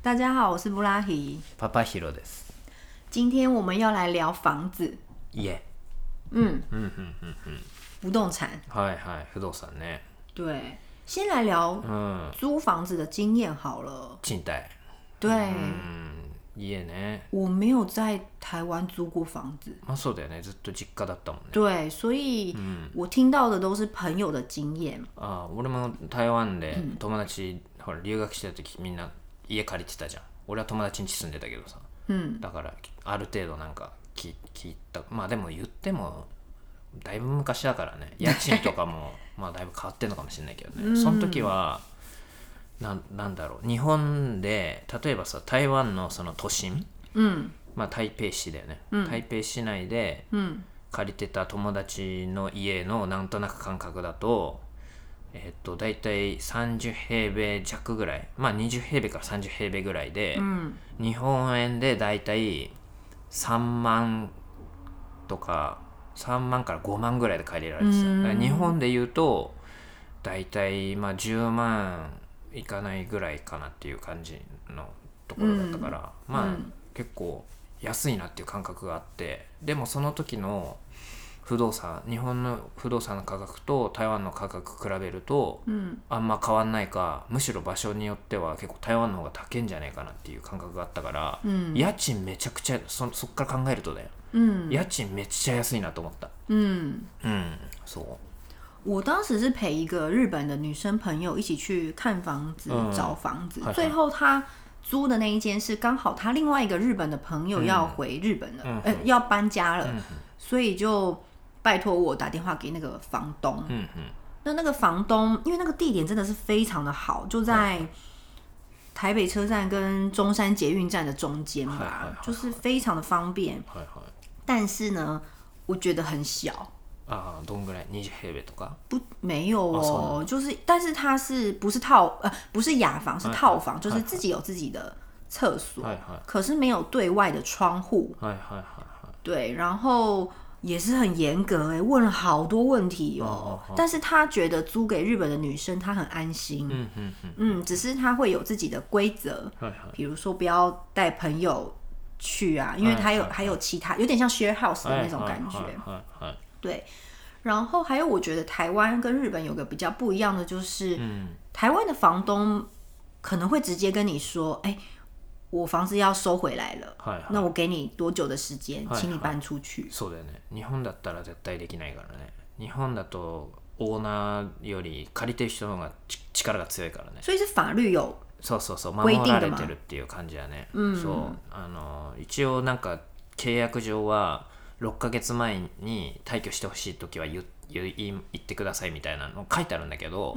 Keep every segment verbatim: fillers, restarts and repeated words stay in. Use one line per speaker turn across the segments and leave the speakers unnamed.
大家好，我是布拉提。
パパヒロです。
今天我们要来聊房子。
家。
嗯
嗯嗯嗯嗯。
不动产。
はいはい、不動産ね。
对，先来聊租房子的经验好了。
賃貸。
对。
うん家ね。
我没有在台湾租过房子。
まあそうだよね。ずっと実家だったもんね。
对，所以我听到的都是朋友的经验。
ああ、俺も台湾で友達、ほら留学してた時みんな家借りてたじゃん。俺は友達ん家住んでたけどさ。うん、だからある程度なんか聞いた。まあでも言ってもだいぶ昔だからね。家賃とかもまあだいぶ変わってんのかもしれないけどね。その時はな, なんだろう日本で例えばさ台湾のその都心、うん、まあ台北市だよね、うん、台北市内で借りてた友達の家のなんとなく感覚だとえっと大体さんじゅう平米弱ぐらい、まあにじゅう平米からさんじゅう平米ぐらいで、うん、日本円で大体さんまんとかさんまんからごまんぐらいで借りられてた。だから日本で言うと大体まあじゅうまんいかないぐらいかなっていう感じのところだったから、うん、まあ、うん、結構安いなっていう感覚があって、でもその時の不動産日本の不動産の価格と台湾の価格比べると、うん、あんま変わんないか、むしろ場所によっては結構台湾の方が高いんじゃないかなっていう感覚があったから、うん、家賃めちゃくちゃ そ, そっから考えるとだよ、うん、家賃めっちゃ安いなと思った。うんうん、そう
我当时是陪一个日本的女生朋友一起去看房子、嗯、找房子，最后她租的那一间是刚好她另外一个日本的朋友要回日本了，嗯呃、要搬家了，嗯、所以就拜托我打电话给那个房东。嗯、那那个房东因为那个地点真的是非常的好，就在台北车站跟中山捷运站的中间吧，就是非常的方便。但是呢，我觉得很小。
啊，どんぐらい？二十平米とか？
不，没有哦，就是，但是它是不是套呃不是雅房，是套房，就是自己有自己的厕所，可是没有对外的窗户。对，然后也是很严格哎，问了好多问题哦。但是他觉得租给日本的女生，她很安心。嗯嗯嗯。嗯，只是他会有自己的规则，比如说不要带朋友去啊，因为他有还有其他，有点像 share house 的那种感觉。对，然后还有我觉得台湾跟日本有个比较不一样的就是、嗯、台湾的房东可能会直接跟你说，哎，我房子要收回来了、はいはい、那我给你多久的时間、はいはい、請你搬出去。
そうだよね。日本だったら絶対できないからね。日本だとオーナーより借りてる人の方が力が強いからね。
所以是法律有
そうそうそう守られてるっていう感じだね、うん、そうあの一応なんか契約上はろっかげつまえに退去してほしいときは 言, 言, 言ってくださいみたいなの書いてあるんだけど、うん、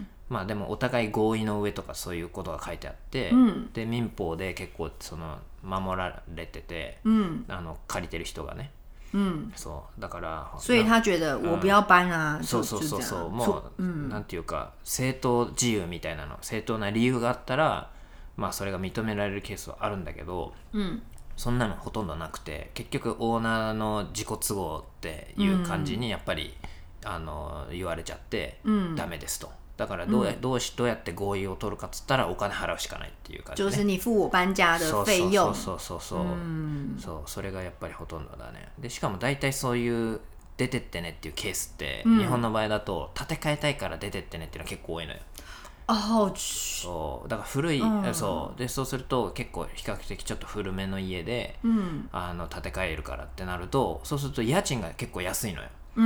まあでもお互い合意の上とかそういうことが書いてあって、うん、で民法で結構その守られてて、うん、あの借りてる人がね、うん、そうだから
所以他觉得我不要搬啊、うん、
そうそうそうそうもう、うん、なんていうか正当自由みたいなの正当な理由があったらまあそれが認められるケースはあるんだけど、うんそんなのほとんどなくて結局オーナーの自己都合っていう感じにやっぱり、うん、あの言われちゃって、うん、ダメですと。だからどうや、うん、どうしどうやって合意を取るかっつったらお金払うしかないっていう感じ、ね、
就是你付我搬家的費用。
そうそうそうそうそう、うん、そうそれがやっぱりほとんどだね。でしかも大体そういう出てってねっていうケースって、うん、日本の場合だと建て替えたいから出てってねっていうのは結構多いのよ。
あ
そうだから古い、うん、そうでそうすると結構比較的ちょっと古めの家で、うん、あの建て替えるからってなるとそうすると家賃が結構安いのよ、うん、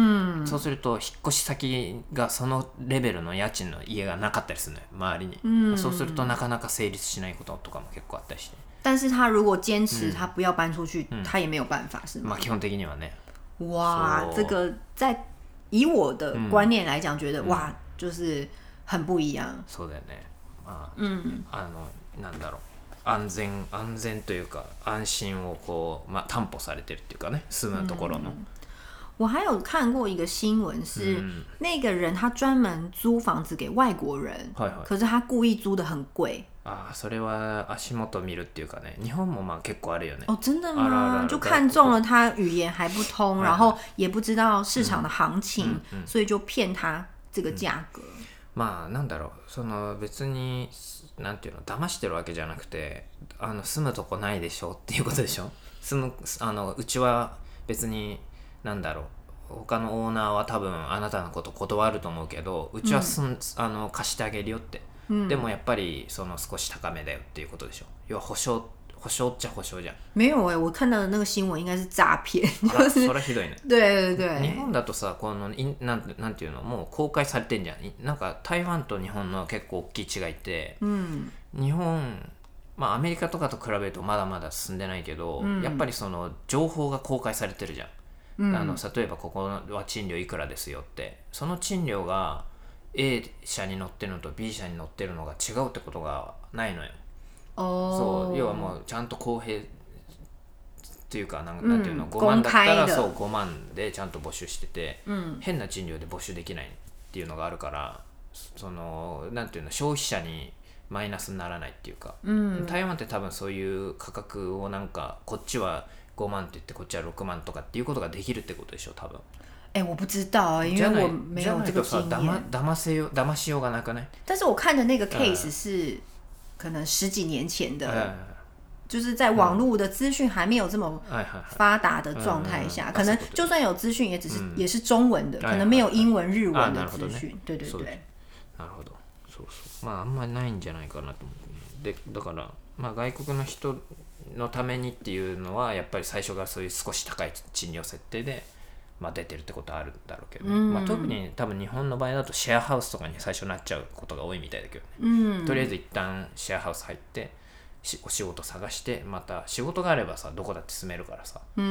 そうすると引っ越し先がそのレベルの家賃の家がなかったりするのよ周りに、うん、そうするとなかなか成立しないこととかも結構あったりして。
但是他如果坚持他不要搬出去、嗯、他也没有办法是吗？
まあ基本的にはね。
哇这个在以我的观念来讲、嗯、觉得哇就是很不一样。
そうだよね。まあ、うん、あのなんだろう安全安全というか安心をこうまあ担保されてるっていうかね住むところの。嗯、
我还有看过一个新闻是、嗯、那个人他专门租房子给外国人，はいはい、可是他故意租的很贵。
ああそれは足元見るっていうかね日本もまあ結構あるよね。
哦真的吗？あるあるある就看中了他语言还不通，然后也不知道市场的行情，嗯嗯、所以就骗他这个价格。
まあなんだろう、その別になんていうの騙してるわけじゃなくて、あの住むとこないでしょっていうことでしょ。住むあのうちは別になんだろう、他のオーナーは多分あなたのこと断ると思うけど、うちはすん、うん、あの貸してあげるよって、うん、でもやっぱりその少し高めだよっていうことでしょ。要は保証保証っちゃ保証じゃん。
没有哎、欸，我看到的那个新闻应该是诈骗，就是。
それひどいね。
对对对。
日本だとさ、このなんなんていうのもう公開されてんじゃん。なんか台湾と日本の結構大きい違いって、うん、日本まあアメリカとかと比べるとまだまだ進んでないけど、うん、やっぱりその情報が公開されてるじゃん。うん、あの例えばここは賃料いくらですよって、その賃料が A 社に載ってるのと B 社に載ってるのが違うってことがないのよ。そう要はもうちゃんと公平っていうか な, なんていうの、うん、ごまんだったらそうごまんでちゃんと募集してて、うん、変な賃料で募集できないっていうのがあるから、そのなんていうの消費者にマイナスにならないっていうか、うん、台湾って多分そういう価格をなんかこっちはごまんって言ってこっちはろくまんとかっていうことができるってことでしょ多分。
哎、欸，我不知道，因为我没有这个经验。
騙せよ騙しようがなくない？
但是我看的那个 case 是、嗯、可能十几年前的。嗯，就是在网络的资讯还没有这么发达的状态下、嗯、可能就算有资讯也只是、嗯、也是中文的、嗯、可能没有英文、日文的資訊、ね、对对对。
なるほど。そうそう。まああんまりないんじゃないかなと思う。でだからまあ外国の人のためにっていうのはやっぱり最初からそういう少し高い賃料設定で。まあ、出てるってことはあるんだろうけどね、うんまあ、特に多分日本の場合だとシェアハウスとかに最初なっちゃうことが多いみたいだけどね、うん、とりあえず一旦シェアハウス入ってお仕事探してまた仕事があればさどこだって住めるからさ、うん、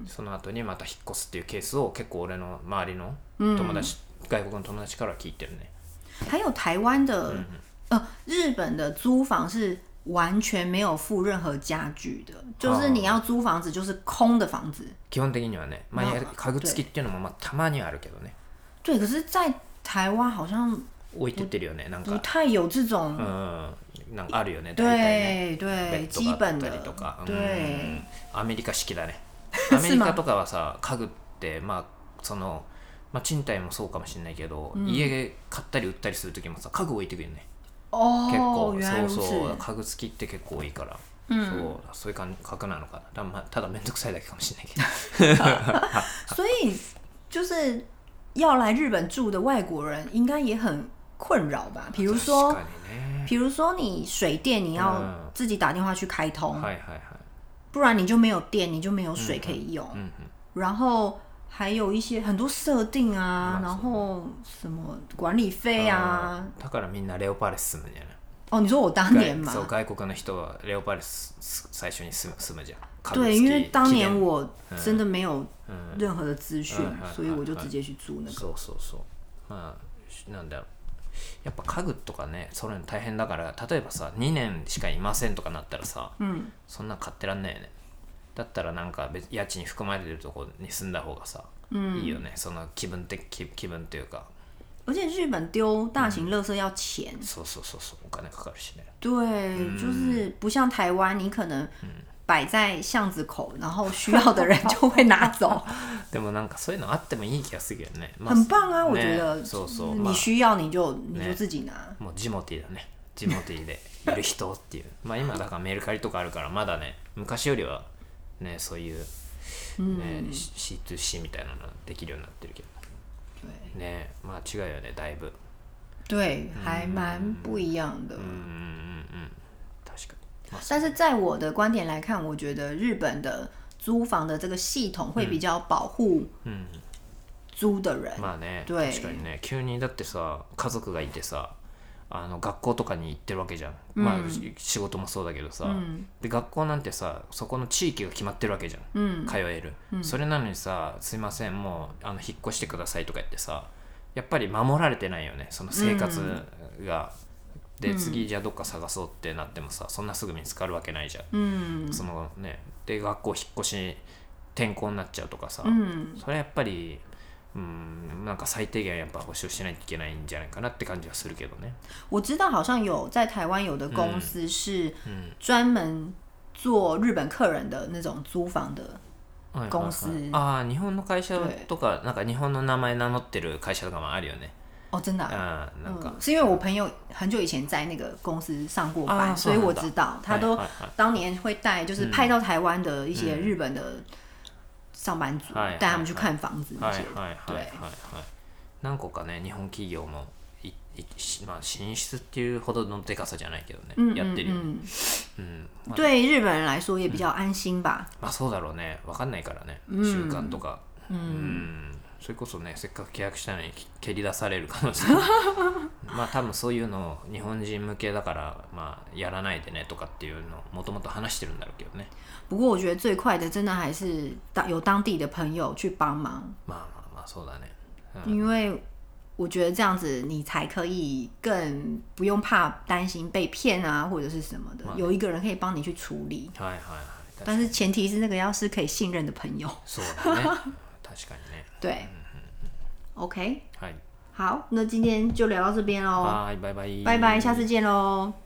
その後にまた引っ越すっていうケースを結構俺の周りの友達、うん、外国の友達から聞いてるね。
还有台湾的、嗯呃、日本的租房是完全没有附任何家具的，就是你要租房子就是空的房子。
基本的にはね、まあ家具付きっていうのもまあたまにはあるけどね。
对，可是在台湾好像
置いてってるよね、なんか。
不太有这种。
嗯，なんかあるよね。
对对，基本的。
对。アメリカ式だね。アメリカとかはさ、家具ってまあそのまあ賃貸もそうかもしれないけど、うん、家買ったり売ったりするときもさ家具置いてくるよね。結構そうそう家具付きって結構多いから、うん、そうそういう感覚なのかな。まあ、ただ面倒くさいだけかもしれないけど。
所以就是要来日本住的外国人应该也很困扰吧？比如说，比如说你水电你要自己打电话去开通，嗯、不然你就没有电，你就没有水可以用。嗯嗯、然后还有一些很多设定啊，然后什么管理费啊。
だからみんなレオパレス住むんじゃない？
哦，你说我当年嘛？
そう外国の人はレオパレス最初に住む住むじゃん。
对，因为当年我真的没有任何的资讯，所以我就直接去租那个。
そうそうそう。まあなんだろう。やっぱ家具とかね、それ大変だから、例えばさにねんしかいませんとかなったらさ、うん、そんな買ってらんないよね。だったらなんか別家賃含まれてるところに住んだ方がさ、うん、いいよね。その気分的気気分というか。
而且日本丢大型垃圾要钱。
そうそうそうそう、お金かかるしね。
对，就是不像台湾，你可能摆在巷子口，然后需要的人就会拿走。
でもなんかそういうのあってもいい気がするけどね。
很棒啊，我觉得。
そうそう。
你需要你就你就自己拿。
もうジモティーだね。ジモティーでいる人っていう。まあ今だからメルカリとかあるからまだね、昔よりはねそういうね シーツーシー みたいなのできるようになってるけど。ね、まあ違うよねだいぶ。
对，还蛮不一样的。
嗯嗯嗯，確かに。
但是在我的观点来看，我觉得日本的租房的这个系统会比较保护租的人。
まあね、確かにね、急にだってさ家族がいてさ。あの学校とかに行ってるわけじゃん、うん、まあ仕事もそうだけどさ、うん、で学校なんてさそこの地域が決まってるわけじゃん、うん、通える、うん、それなのにさすいませんもうあの引っ越してくださいとか言ってさやっぱり守られてないよねその生活が、うん、で次じゃあどっか探そうってなってもさそんなすぐ見つかるわけないじゃん、うん、そのねで学校引っ越し転校になっちゃうとかさ、うん、それはやっぱり嗯，なんか最低限やっぱ保証しないといけないんじゃないかなって感じはするけどね。
我知道好像有在台湾有的公司是专门做日本客人的那种租房的公司。
ああ、日本の会社とかなんか日本の名前名乗ってる会社とかもあるよね。
哦，真的、
啊、嗯なんか、
嗯、是因为我朋友很久以前在那个公司上过班、啊、所以我知道他都当年会带就是派到台湾的一些日本的上班族，带、嗯、他们去看房子那些。对，
何個かね日本企業もまあ進出っていうほどのでかさじゃないけどね、
嗯、
やってるよ、
嗯
嗯
まあ、对日本人来说也比较安心吧、
うん、まあそうだろうね、分かんないからね、習慣とか、うん、うんそれこそねせっかく契約したのに蹴り出される可能性まあ多分そういうの日本人向けだからまあやらないでねとかっていうのをもともと話してるんだろうけどね。
不过我觉得最快的真的还是有当地的朋友去帮忙。
まあまあまあそうだね、
うん、因为我觉得这样子你才可以更不用怕担心被骗啊或者是什么的、まあ、有一个人可以帮你去处理。
はいはいはい。
但是前提是那个要是可以信任的朋友。
そうだね。確かにね。
对、嗯、OK
はい。
好，那今天就聊到这边咯。
はい、バイバイ。
拜拜，下次见咯。